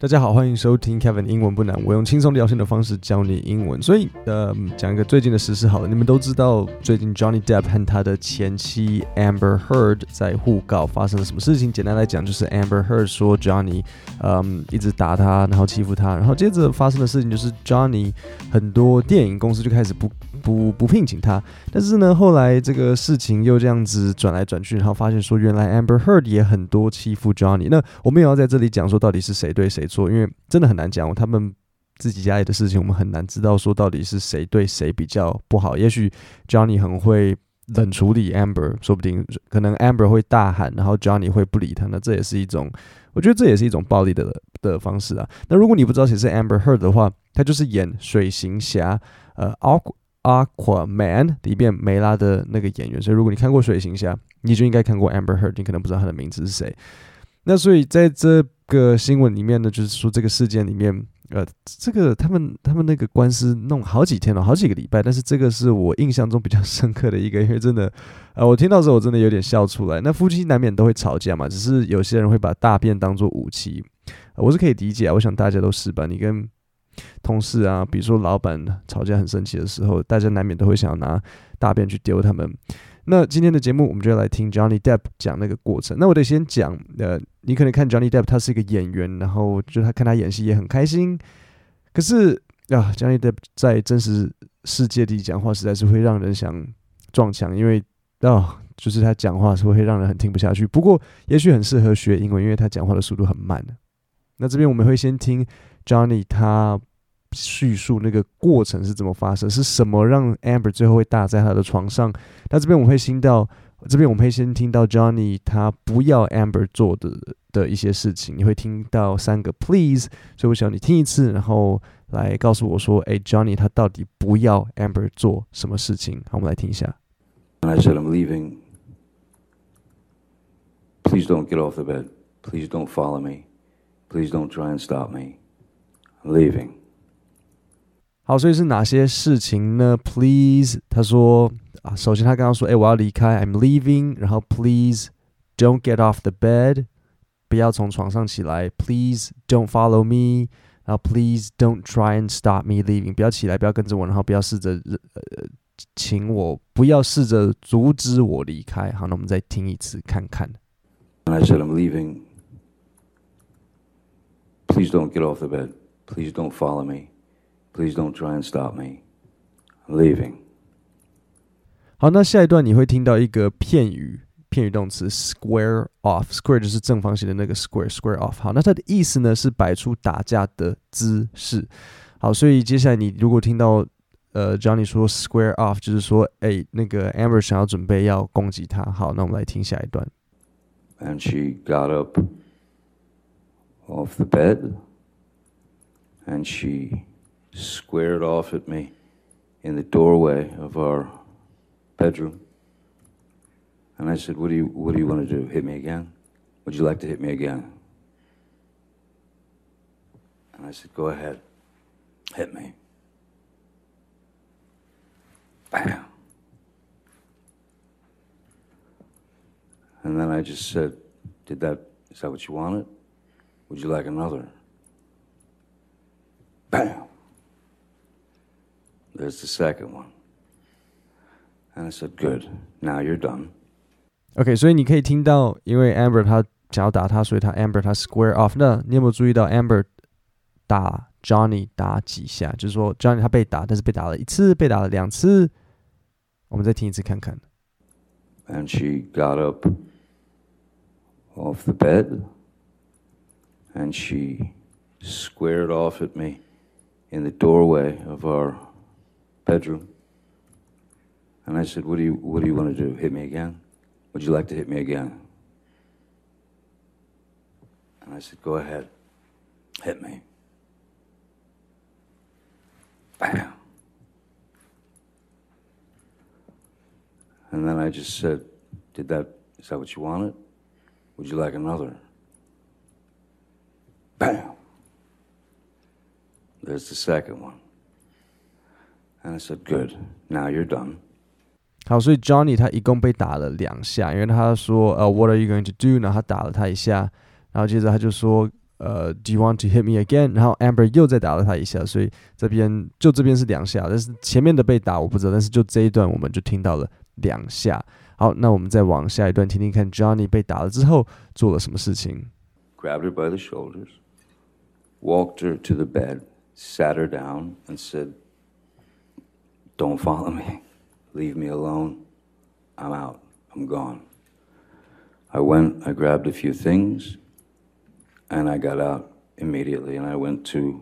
大家好，歡迎收聽 Kevin 英文不難，我用輕鬆聊天的方式教你英文。所以講一個最近的時事好了，你們都知道最近 Johnny Depp 和他的前妻 Amber Heard 在互告發生了什麼事情。簡單來講，就是 Amber Heard 說 Johnny 一直打他，然後欺負他，然後接着發生的事情就是 Johnny 很多電影公司就開始不聘請他。但是呢，後來這個事情又這樣子轉來轉去，然後發現說原來 Amber Heard 也很多欺負 Johnny。那我沒有要在這裡講說到底是誰對誰錯，因為真的很難講，他們自己家裡的事情，我們很難知道說到底是誰對誰比較不好。也許 Johnny 很會冷處理 Amber， 說不定可能 Amber 會大喊，然後 Johnny 會不理他，那這也是一種，我覺得這也是一種暴力的方式啊。那如果你不知道誰是 Amber Heard 的話，他就是演水行俠Aquaman 裡面梅拉的那個演員，所以如果你看過水行俠，你就應該看過 Amber Heard， 你可能不知道他的名字是誰。那所以在這個新聞裡面呢，就是說這個事件裡面，這個他們那個官司弄好幾天了，好幾個禮拜，但是這個是我印象中比較深刻的一個，因為真的，我聽到的時候我真的有點笑出來。那夫妻難免都會吵架嘛，只是有些人會把大便當作武器，我是可以理解啊，我想大家都是吧。你跟同事啊，比如說老闆吵架很生氣的時候，大家難免都會想要拿大便去丟他們。那今天的節目，我們就要來聽 Johnny Depp 講那個過程。那我得先講，你可能看 Johnny Depp 他是一個演員，然後就他看他演戲也很開心。可是Johnny Depp 在真實世界裡講話，實在是會讓人想撞牆，因為就是他講話是會讓人很聽不下去。不過也許很適合學英文，因為他講話的速度很慢。那這邊我們會先聽 Johnny 他敘述那個過程是怎麼發生，是什麼讓 Amber 最後會打在他的床上。那這邊我們會先聽到 Johnny 他不要 Amber 做的一些事情，你會聽到3個 please， 所以我想你聽一次，然後來告訴我說，Johnny 他到底不要 Amber 做什麼事情。好，我們來聽一下。 I said I'm leaving. Please don't get off the bed. Please don't follow me. Please don't try and stop me. I'm leaving. 好，所以是哪些事情呢 ？Please， 他說首先他剛剛說，我要離開 ，I'm leaving， 然後 Please don't get off the bed， 不要從床上起來 ，Please don't follow me， 然後 Please don't try and stop me leaving， 不要起來，不要跟着我，然後不要試着不要試着阻止我離開。好，那我們再聽一次看看。 I said I'm leaving. Please don't get off the bed. Please don't follow me.Please don't try and stop me. I'm leaving. 好，那下一段你會聽到一個片語動詞 square off。square 就是正方形的那個 square off。好，那它的意思呢是擺出打架的姿勢。好，所以接下來你如果聽到Johnny 說 square off， 就是說那個 Amber 想要準備要攻擊他。好，那我們來聽下一段。 And she got up off the bed, and she squared off at me in the doorway of our bedroom. And I said, what do you want to do? Hit me again? Would you like to hit me again? And I said, go ahead. Hit me. Bam. And then I just said, is that what you wanted? Would you like another? Bam.There's the second one. And I said, good. Now you're done. OK， 所以你可以听到，因為 Amber 他想要打他，所以Amber 他 square off。那你有沒有注意到 Amber 打 Johnny 打幾下？就是說 Johnny 他被打，但是被打了1次，被打了2次。我們再聽一次看看。 And she got up off the bed, and she squared off at me in the doorway of our bedroom. And I said, what do you want to do? Hit me again? Would you like to hit me again? And I said, go ahead. Hit me. Bam. And then I just said, is that what you wanted? Would you like another? Bam.There's the second one. And I said, good. Now you're done. 好，所以 Johnny 他一共被打了2下，因為他說what are you going to do？ 然後他打了他一下，然後接着他就說 Do you want to hit me again？ 然後 Amber 又再打了他一下，所以這邊是2下，但是前面的被打我不知道，但是就這一段我們就聽到了2下。好，那我們再往下一段聽聽看 Johnny 被打了之後做了什麼事情。 Grabbed her by the shoulders, walked her to the bed, sat her down, and said, "Don't follow me. Leave me alone. I'm out. I'm gone." I went, I grabbed a few things, and I got out immediately, and I went to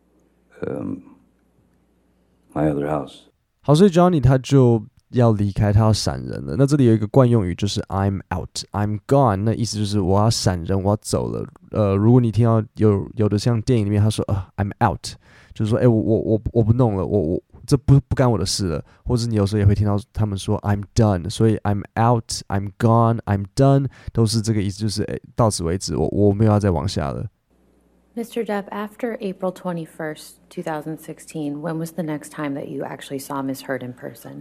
my other house. 好，所以 Johnny 他就要離開，他要閃人了。那這裡有一個慣用語，就是 I'm out, I'm gone。那意思就是我要閃人，我要走了。如果你聽到有的像電影裡面他說I'm out， 就是說我不弄了，我這不干我的事了。或者你有時候也會聽到他們說 I'm done， 所以 I'm out, I'm gone, I'm done 都是這個意思，就是到此為止，我沒有要再往下了。 Mr. Depp, after April 21st, 2016, when was the next time that you actually saw Ms. Heard in person?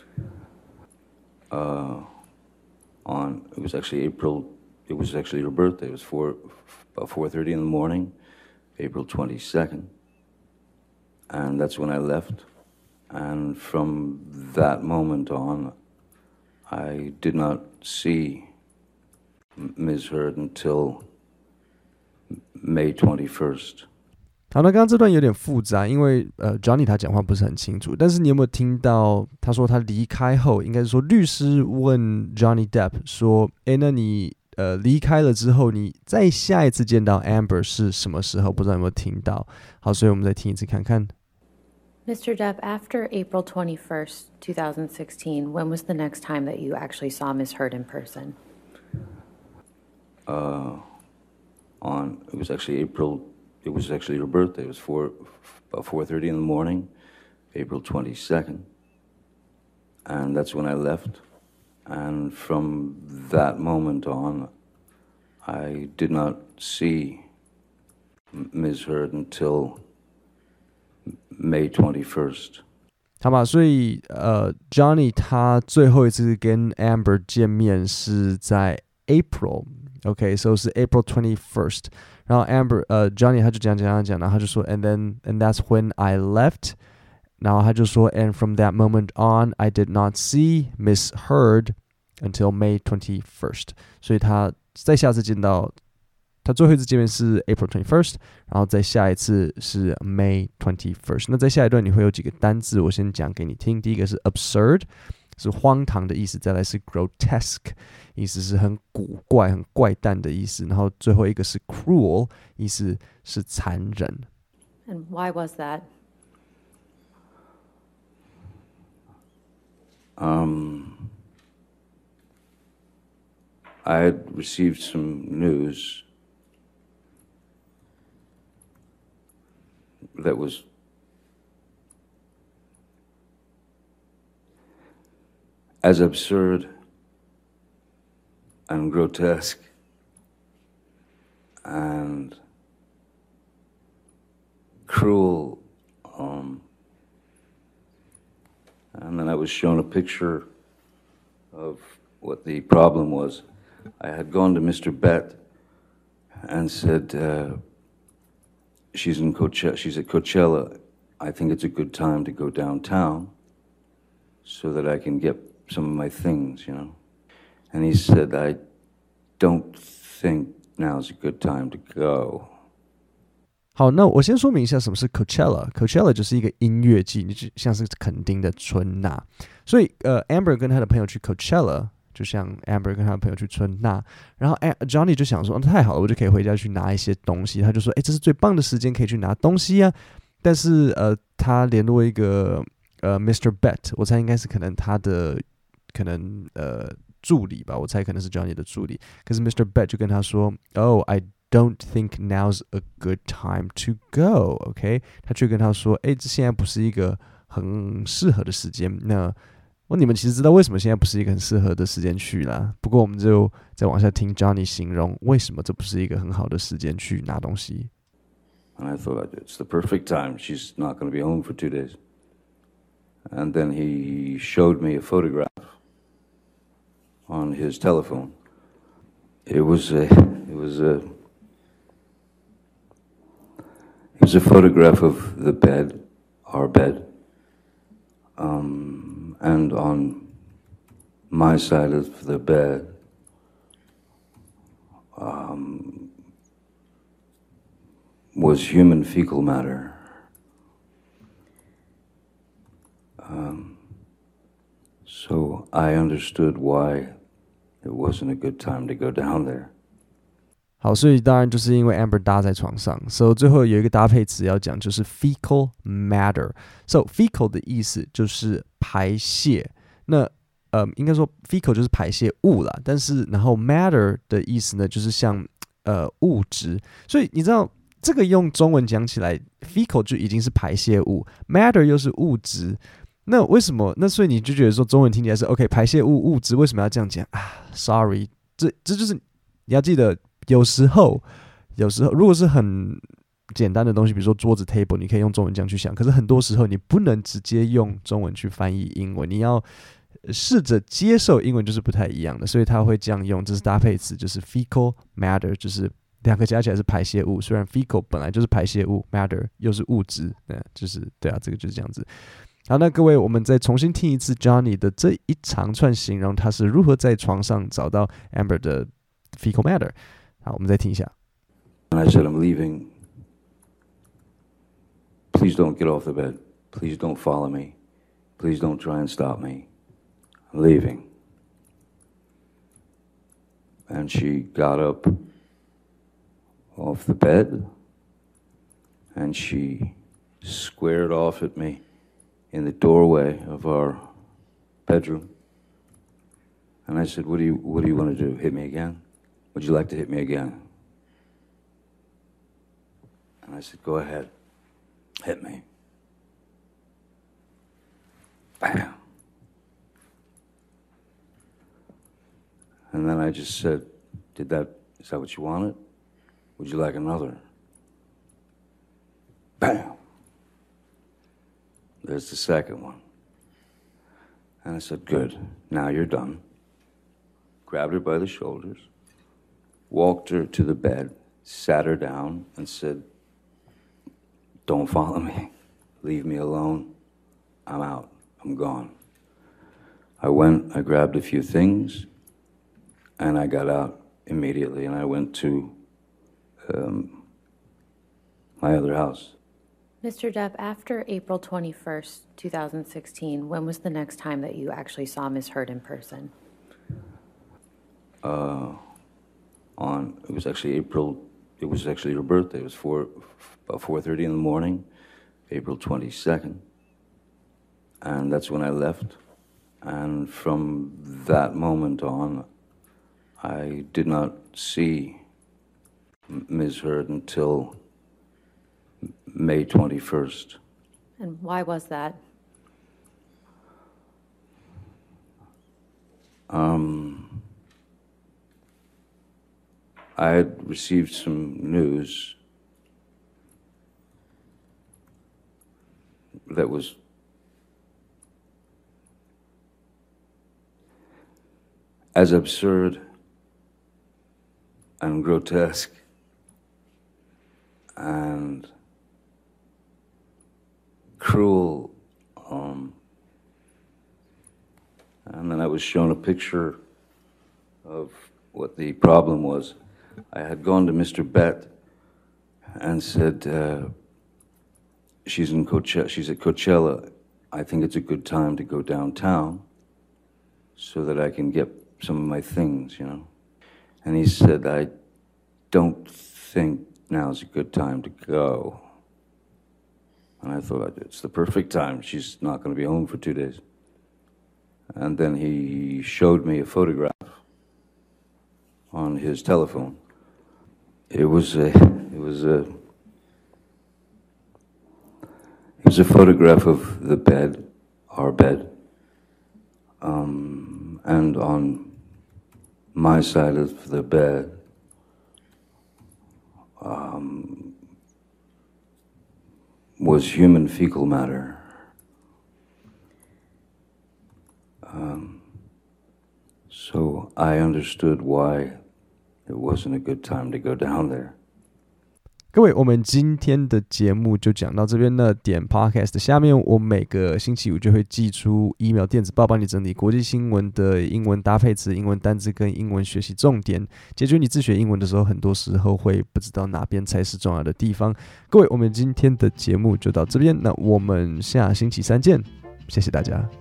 It was actually her birthday. It was about 4:30 in the morning, April 22nd. And that's when I left. And from that moment on, I did not see Ms. Heard until May 21st. 好，那剛剛這段有點複雜，因為Johnny 他講話不是很清楚，但是你有沒有聽到他說他離開後，應該是說律師問 Johnny Depp 說，那你離開了之後，你再下一次見到 Amber 是什麼時候？不知道有沒有聽到？好，所以我們再聽一次看看。 Mr. Depp, after April 21st, 2016, when was the next time that you actually saw Ms. Heard in person? It was actually her birthday. It was about 4:30 in the morning, April 22nd. And that's when I left. And from that moment on, I did not see Ms. Heard until May 21st. 好吧，所以Johnny 他最後一次跟 Amber 見面是在 April。OK， so 是 April 21st。然後 Johnny 他就講，然後他就說 and that's when I left， 然後他就說 and from that moment on I did not see Miss Heard until May 21st， 所以他再下次見到他最後一次見面是 April 21st， 然後再下一次是 May 21st。 那在下一段你會有幾個單字，我先講給你聽。第一個是 absurd， 是荒唐的意思，再來是 grotesque， 意思是很古怪很怪誕的意思，然後最後一個是 cruel， 意思是殘忍。 And why was that? I had received some news that was as absurd and grotesque and cruel, and then I was shown a picture of what the problem was. I had gone to Mr. Bett and said, she's at Coachella. I think it's a good time to go downtown so that I can get some of my things, you know. And he said, I don't think now's a good time to go. 好，那我先說明一下什麼是 Coachella。Coachella 就是一個音樂季，就像是墾丁的春吶。所以Amber 跟他的朋友去 Coachella， 就像 Amber 跟他的朋友去春吶。然後Johnny 就想說，太好了，我就可以回家去拿一些東西。他就說，這是最棒的時間可以去拿東西啊。但是他聯絡一個Mr. Bett， 我猜應該是可能他的助理吧，我猜可能是 Johnny 的助理。可是 Mr. Bett 就跟他說 ，Oh, I don't think now's a good time to go. OK， 他卻跟他說，這現在不是一個很適合的時間。那你們其實知道為什麼現在不是一個很適合的時間去啦。不過我們就再往下聽 Johnny 形容為什麼這不是一個很好的時間去拿東西。 And I thought, it's the perfect time. She's not going to be home for 2 days. And then he showed me a photograph on his telephone. It was a was a photograph of the bed, our bed, and on my side of the bed was human fecal matter. So I understood why it wasn't a good time to go down there. 好，所以当然就是因為 Amber 搭在床上，所以最後有一個搭配詞要講，就是 fecal matter。So fecal 的意思就是排泄，那應該說 fecal 就是排泄物啦，但是然後 matter 的意思呢，就是像物質，所以你知道這個用中文講起來 fecal 就已經是排泄物 ，matter 又是物質。那為什麼？那所以你就覺得說中文聽起來是 OK， 排泄物物質為什麼要這樣講啊 ？Sorry， 這就是你要記得，有時候如果是很簡單的東西，比如說桌子 table， 你可以用中文這樣去想。可是很多時候你不能直接用中文去翻譯英文，你要試着接受英文就是不太一樣的，所以他會這樣用。這是搭配詞，就是 fecal matter， 就是兩個加起來是排泄物。雖然 fecal 本來就是排泄物 ，matter 又是物質，就是對啊，這個就是這樣子。好，那各位，我們再重新聽一次 Johnny 的這一長串形容他是如何在床上找到 Amber 的 fecal matter。好，我們再聽一下。 And I said, I'm leaving. Please don't get off the bed. Please don't follow me. Please don't try and stop me. I'm leaving. And she got up off the bed and she squared off at me in the doorway of our bedroom. And I said, what do you want to do? Hit me again? Would you like to hit me again? And I said, go ahead. Hit me. Bam. And then I just said, is that what you wanted? Would you like another? Bam. There's the second one. And I said, good, now you're done. Grabbed her by the shoulders, walked her to the bed, sat her down, and said, don't follow me. Leave me alone. I'm out. I'm gone. I went, I grabbed a few things, and I got out immediately, and I went to my other house. Mr. Depp, after April 21st, 2016, when was the next time that you actually saw Ms. Heard in person? It was actually her birthday. It was about 4:30 in the morning, April 22nd. And that's when I left. And from that moment on, I did not see Ms. Heard until May 21st. And why was that? I had received some news that was as absurd and grotesque and cruel. And then I was shown a picture of what the problem was. I had gone to Mr. Bett and said, she's at Coachella. I think it's a good time to go downtown so that I can get some of my things, you know. And he said, I don't think now's a good time to go. And I thought, it's the perfect time. She's not going to be home for 2 days. And then he showed me a photograph on his telephone. It was a photograph of the bed, our bed, and on my side of the bed was human fecal matter. So I understood why it wasn't a good time to go down there. 各位，我們今天的節目就講到這邊了。點 Podcast 下面，我每個星期五就會寄出 email 電子報，幫你整理國際新聞的英文搭配詞、英文單字跟英文學習重點，解決你自學英文的時候，很多時候會不知道哪邊才是重要的地方。各位，我們今天的節目就到這邊，那我們下星期三見，謝謝大家。